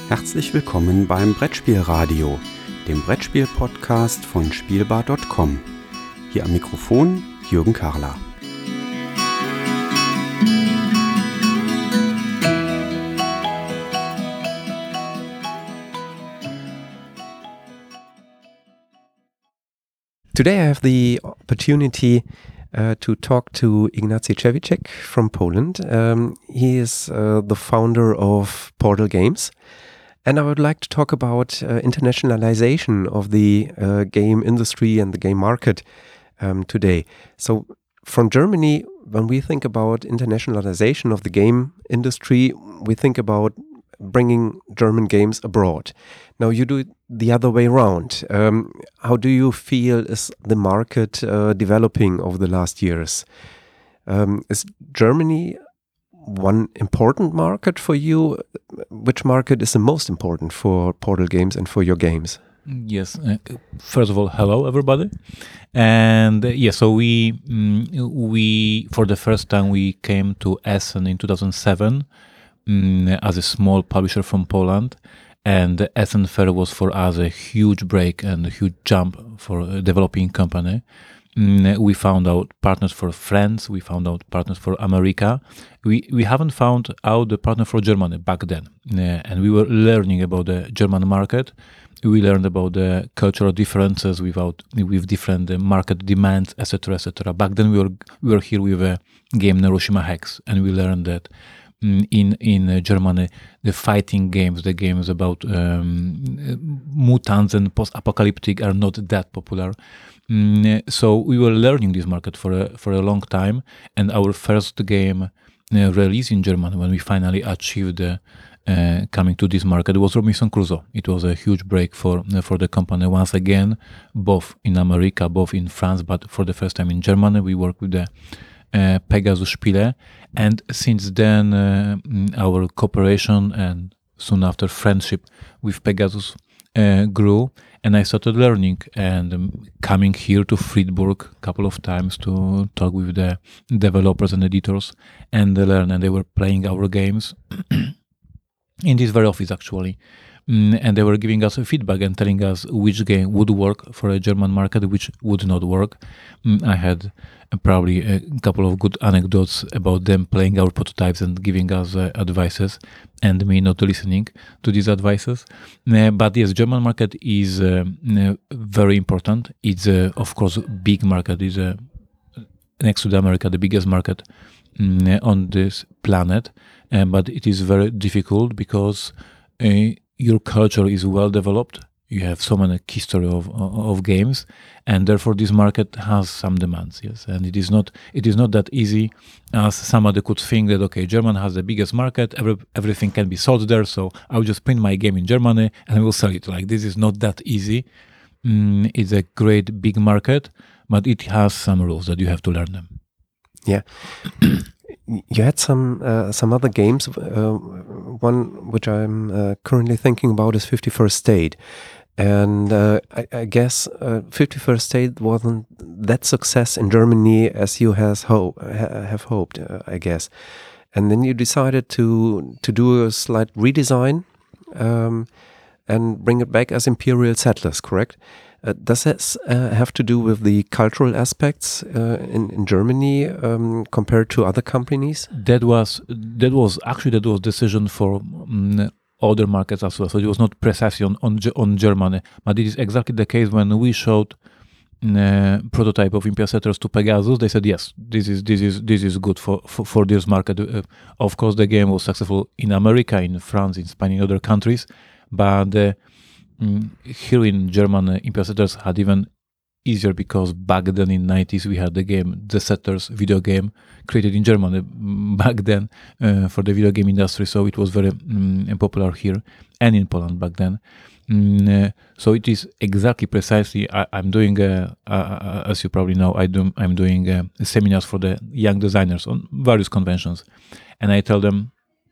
Herzlich willkommen beim Brettspielradio, dem Brettspiel-Podcast von Spielbar.com. Hier am Mikrofon Jürgen Karler. Today I have the opportunity to talk to Ignacy Cewicek from Poland. He is the founder of Portal Games. And I would like to talk about internationalization of the game industry and the game market today. So from Germany, when we think about internationalization of the game industry, we think about bringing German games abroad. Now you do it the other way around. How do you feel is the market developing over the last years? Is Germany one important market for you? Which market is the most important for Portal Games and for your games? Yes. First of all, hello everybody. And so we for the first time we came to Essen in 2007 as a small publisher from Poland. And the Essen Fair was for us a huge break and a huge jump for a developing company. We found out partners for France, we found out partners for America. We haven't found out the partner for Germany back then. And we were learning about the German market. We learned about the cultural differences with different market demands, etc., etc. Back then we were here with a game Neuroshima Hex, and we learned that in Germany, the fighting games, the games about mutants and post-apocalyptic are not that popular. So we were learning this market for a long time, and our first game release in Germany, when we finally achieved coming to this market, was Robinson Crusoe. It was a huge break for the company once again, both in America, both in France, but for the first time in Germany. We worked with the Pegasus Spiele, and since then our cooperation and soon after friendship with Pegasus grew, and I started learning and coming here to Friedberg a couple of times to talk with the developers and editors and learn, and they were playing our games in this very office actually. And they were giving us feedback and telling us which game would work for a German market, which would not work. I had probably a couple of good anecdotes about them playing our prototypes and giving us advices, and me not listening to these advices. But yes, German market is very important. It's of course a big market. It's next to the America, the biggest market on this planet. But it is very difficult because your culture is well developed. You have so many history of games, and therefore this market has some demands. Yes, and it is not that easy as somebody could think that okay, Germany has the biggest market, everything can be sold there, so I will just print my game in Germany and I will sell it. Like, this is not that easy. It's a great big market, but it has some rules that you have to learn them. Yeah. You had some other games. One which I'm currently thinking about is 51st State. And I guess 51st State wasn't that success in Germany as you have hoped, I guess. And then you decided to do a slight redesign and bring it back as Imperial Settlers, correct? Does this have to do with the cultural aspects in Germany compared to other companies? That was decision for other markets as well. So it was not precisely on Germany, but it is exactly the case when we showed prototype of Imperial Settlers to Pegasus. They said yes, this is good for this market. Of course, the game was successful in America, in France, in Spain, in other countries, but here in Germany, Imperial Settlers had even easier because back then in 90s we had the game The Settlers video game created in Germany back then for the video game industry, so it was very popular here and in Poland back then. So it is exactly precisely I'm doing as you probably know, I'm doing seminars for the young designers on various conventions, and I tell them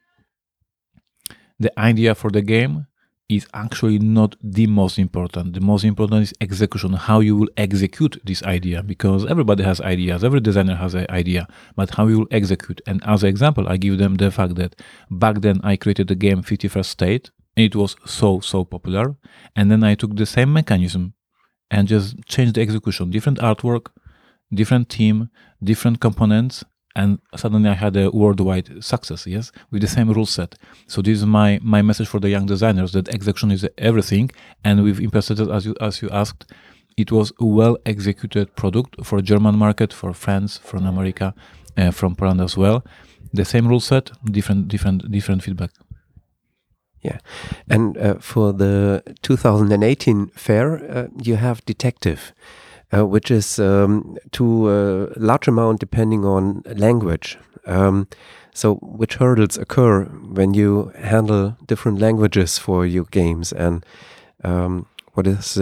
the idea for the game is actually not the most important. The most important is execution, how you will execute this idea, because everybody has ideas, every designer has an idea, but how you will execute. And as an example, I give them the fact that back then I created the game 51st State, and it was so popular. And then I took the same mechanism and just changed the execution, different artwork, different team, different components, and suddenly I had a worldwide success, yes, with the same rule set. So this is my message for the young designers, that execution is everything. And with Impercepted, as you asked, it was a well-executed product for German market, for France, from America, from Poland as well. The same rule set, different feedback. Yeah, and for the 2018 fair, you have Detective, which is to a large amount depending on language. So which hurdles occur when you handle different languages for your games, and what is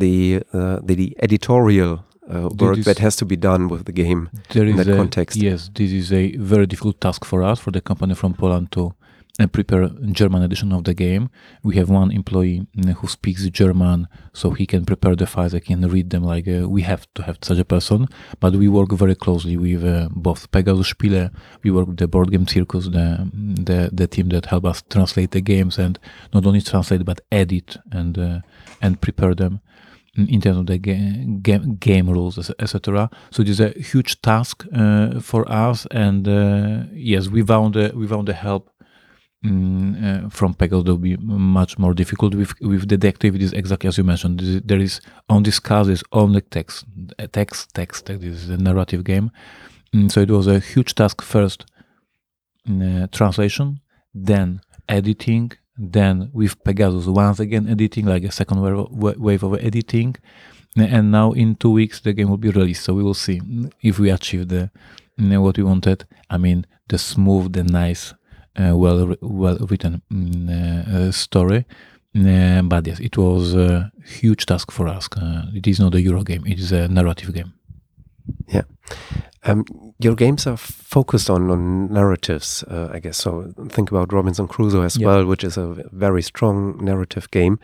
the editorial work that has to be done with the game in that context? Yes, this is a very difficult task for us, for the company from Poland, to prepare German edition of the game. We have one employee who speaks German, so he can prepare the files, I can read them, like we have to have such a person. But we work very closely with both Pegasus Spiele, we work with the Board Game Circus, the team that help us translate the games, and not only translate but edit and prepare them in terms of the game rules, etc. So it is a huge task for us, and yes, we found the help from Pegasus. That will be much more difficult. With Detective, it is exactly as you mentioned. There is on this card is only text. This is a narrative game. So it was a huge task. First, translation, then editing, then with Pegasus once again editing, like a second wave of editing, and now in 2 weeks the game will be released. So we will see if we achieve what we wanted. I mean, the smooth, the nice, well written story. But yes, it was a huge task for us. It is not a Euro game; it is a narrative game. Yeah. Your games are focused on narratives, I guess. So think about Robinson Crusoe as well, which is a very strong narrative game.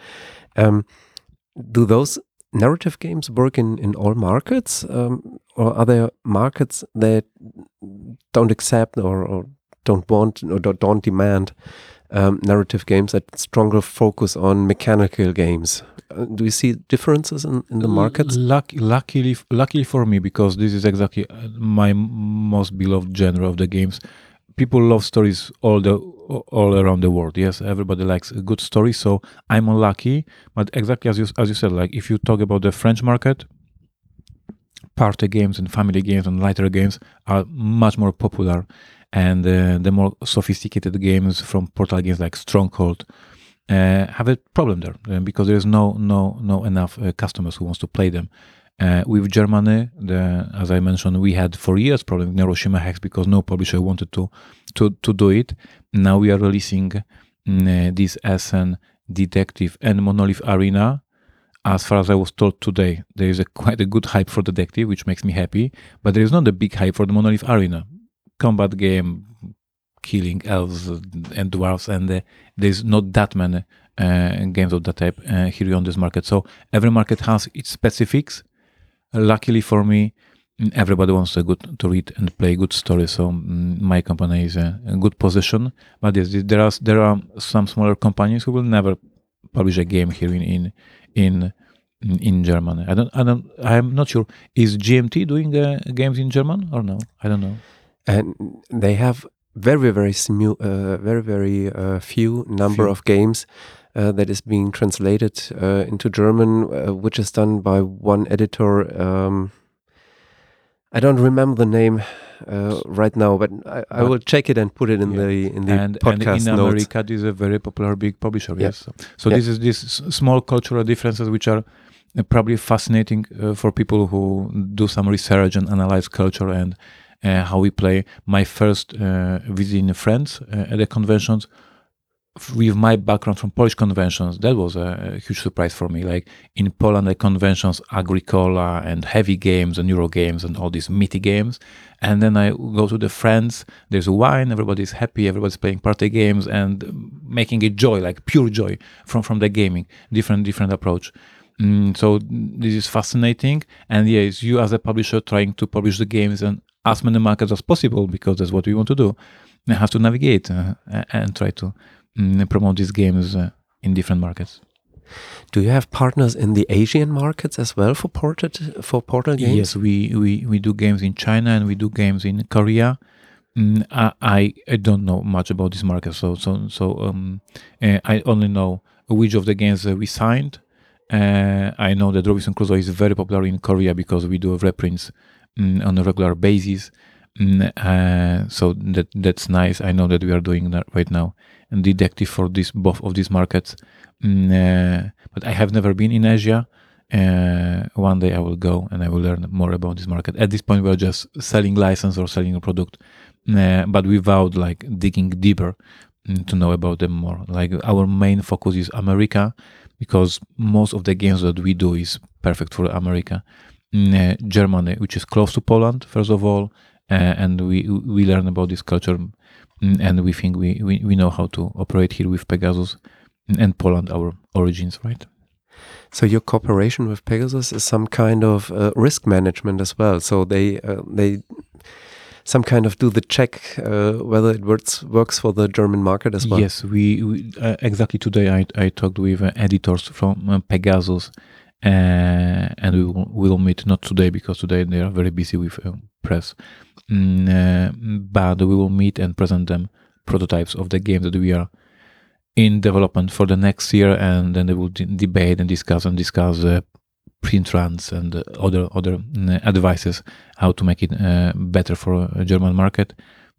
Do those narrative games work in all markets, or are there markets that don't accept or don't want or don't demand narrative games, that stronger focus on mechanical games? Do you see differences in the markets? Luckily for me, because this is exactly my most beloved genre of the games. People love stories all around the world. Yes, everybody likes a good story. So I'm unlucky, but exactly as you said, like if you talk about the French market, party games and family games and lighter games are much more popular, and the more sophisticated games from portal games like Stronghold have a problem there, because there is no enough customers who wants to play them. With Germany, as I mentioned, we had for years problem with Neuroshima Hex because no publisher wanted to do it. Now we are releasing this Essen, Detective, and Monolith Arena. As far as I was told today, there is quite a good hype for Detective, which makes me happy, but there is not a big hype for the Monolith Arena. Combat game, killing elves and dwarves, and there's not that many games of that type here on this market. So every market has its specifics. Luckily for me, everybody wants to read and play good stories. So my company is in a good position. But yes, there are some smaller companies who will never publish a game here in Germany. I'm not sure. Is GMT doing games in German or no? I don't know. And they have very few number of games that is being translated into German, which is done by one editor. I don't remember the name right now, but I will check it and put it in the podcast and in notes. America, this is a very popular big publisher. Yes, so this is these small cultural differences which are probably fascinating for people who do some research and analyze culture and how we play. My first visit in France at the conventions, with my background from Polish conventions, that was a huge surprise for me. Like in Poland, the conventions, Agricola and heavy games and Euro games and all these meaty games. And then I go to the France, there's wine, everybody's happy, everybody's playing party games and making it joy, like pure joy from the gaming, different approach. So this is fascinating. And yes, you as a publisher trying to publish the games in as many markets as possible, because that's what we want to do. You have to navigate and try to promote these games in different markets. Do you have partners in the Asian markets as well for Portal games? Yes, we do games in China and we do games in Korea. I don't know much about this market, so I only know which of the games we signed. I know that Robinson Crusoe is very popular in Korea because we do reprints on a regular basis. So that's nice. I know that we are doing that right now. And Detective for both of these markets. But I have never been in Asia. One day I will go and I will learn more about this market. At this point, we are just selling license or selling a product, but without like digging deeper to know about them more. Like our main focus is America, because most of the games that we do is perfect for America. Germany, which is close to Poland, first of all, and we learn about this culture, and we think we know how to operate here with Pegasus, and Poland, our origins, right? So your cooperation with Pegasus is some kind of risk management as well. So they some kind of do the check whether it works for the German market as well. Yes, we exactly today I talked with editors from Pegasus, and we will meet, not today because today they are very busy with press, but we will meet and present them prototypes of the games that we are in development for the next year, and then they will debate and discuss print runs and other advices how to make it better for a German market.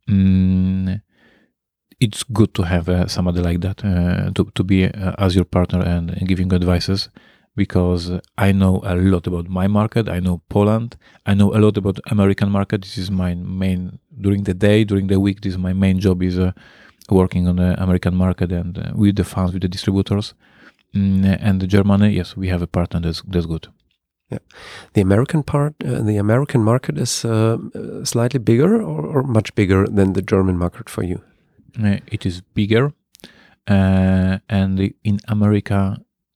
It's good to have somebody like that to be as your partner and giving advices, because I know a lot about my market. I know Poland. I know a lot about American market. This is my main, during the day, during the week, this is my main job, is working on the American market and with the fans, with the distributors. And Germany, yes, we have a partner that's good. Yeah, the American market is slightly bigger or much bigger than the German market for you. It is bigger, and in America,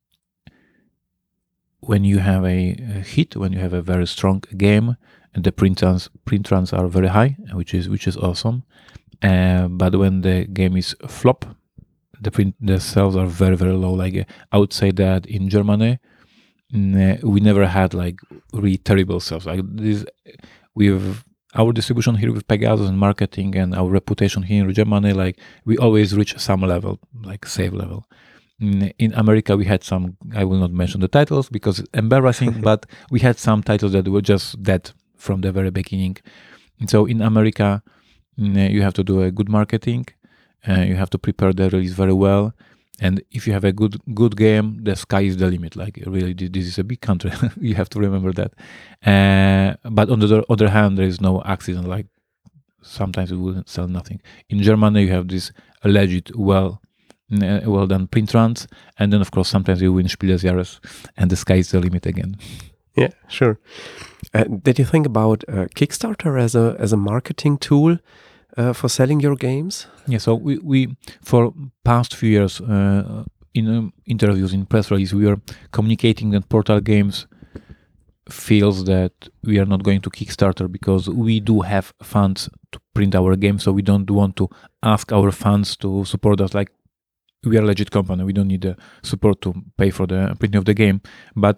when you have a hit, when you have a very strong game, and the print runs are very high, which is awesome. But when the game is flop, the sales are very, very low. Like I would say that in Germany, we never had like really terrible sales. Like this, with our distribution here with Pegasus and marketing and our reputation here in Germany, like we always reach some level, like safe level. In America, we had some, I will not mention the titles because it's embarrassing, but we had some titles that were just dead from the very beginning. And so in America, you have to do a good marketing, you have to prepare the release very well, and if you have a good game, the sky is the limit. Like really, this is a big country. You have to remember that. But on the other hand, there is no accident. Like sometimes we will sell nothing. In Germany, you have this alleged well done print runs, and then of course sometimes you win Spiel des Jahres, and the sky is the limit again. Yeah, sure. Did you think about Kickstarter as a marketing tool for selling your games? Yeah, so we for past few years in interviews, in press release, we are communicating that Portal Games feels that we are not going to Kickstarter because we do have funds to print our games, so we don't want to ask our fans to support us. Like we are a legit company, we don't need the support to pay for the printing of the game, but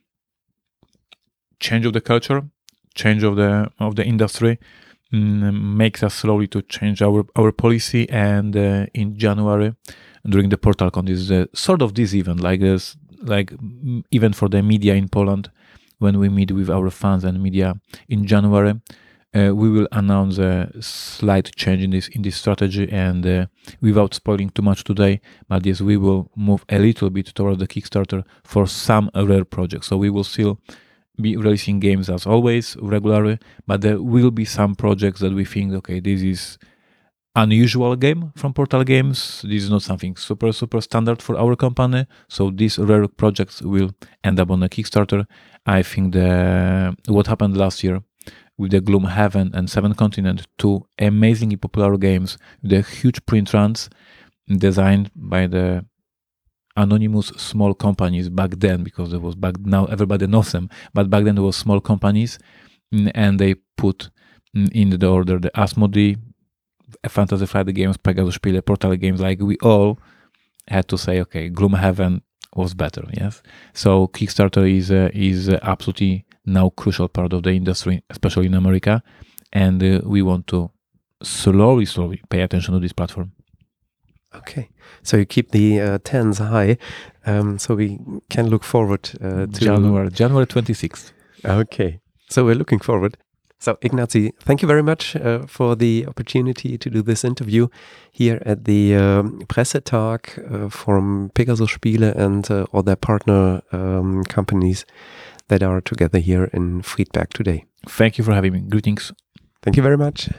change of the culture, change of the industry makes us slowly to change our policy. And in January, during the PortalCon, this is sort of this event, like this, like even for the media in Poland, when we meet with our fans and media in January, we will announce a slight change in this strategy. And without spoiling too much today, but yes, we will move a little bit toward the Kickstarter for some rare projects. So we will still be releasing games as always regularly, but there will be some projects that we think, okay, this is unusual game from Portal Games. This is not something super standard for our company. So these rare projects will end up on a Kickstarter. I think what happened last year with the Gloomhaven and Seven Continent, two amazingly popular games with the huge print runs designed by the anonymous small companies back then, because there was now everybody knows them, but back then there was small companies, and they put in the order the Asmodee, Fantasy Flight Games, Pegasus Spiele, Portal Games. Like we all had to say, okay, Gloomhaven was better. Yes. So Kickstarter is absolutely now crucial part of the industry, especially in America, and we want to slowly pay attention to this platform. Okay, so you keep the tens high, so we can look forward to January 26th. Okay, so we're looking forward. So Ignacy, thank you very much for the opportunity to do this interview here at the Pressetag from Pegasus Spiele and all their partner companies that are together here in Friedberg today. Thank you for having me. Greetings. Thank you very much.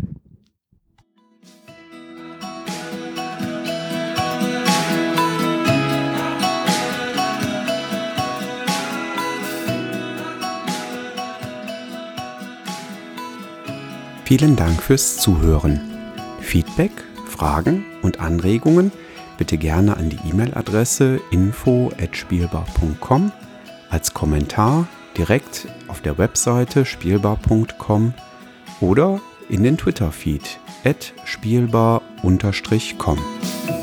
Vielen Dank fürs Zuhören. Feedback, Fragen und Anregungen bitte gerne an die E-Mail-Adresse info@spielbar.com, als Kommentar direkt auf der Webseite spielbar.com oder in den Twitter-Feed @spielbar_com.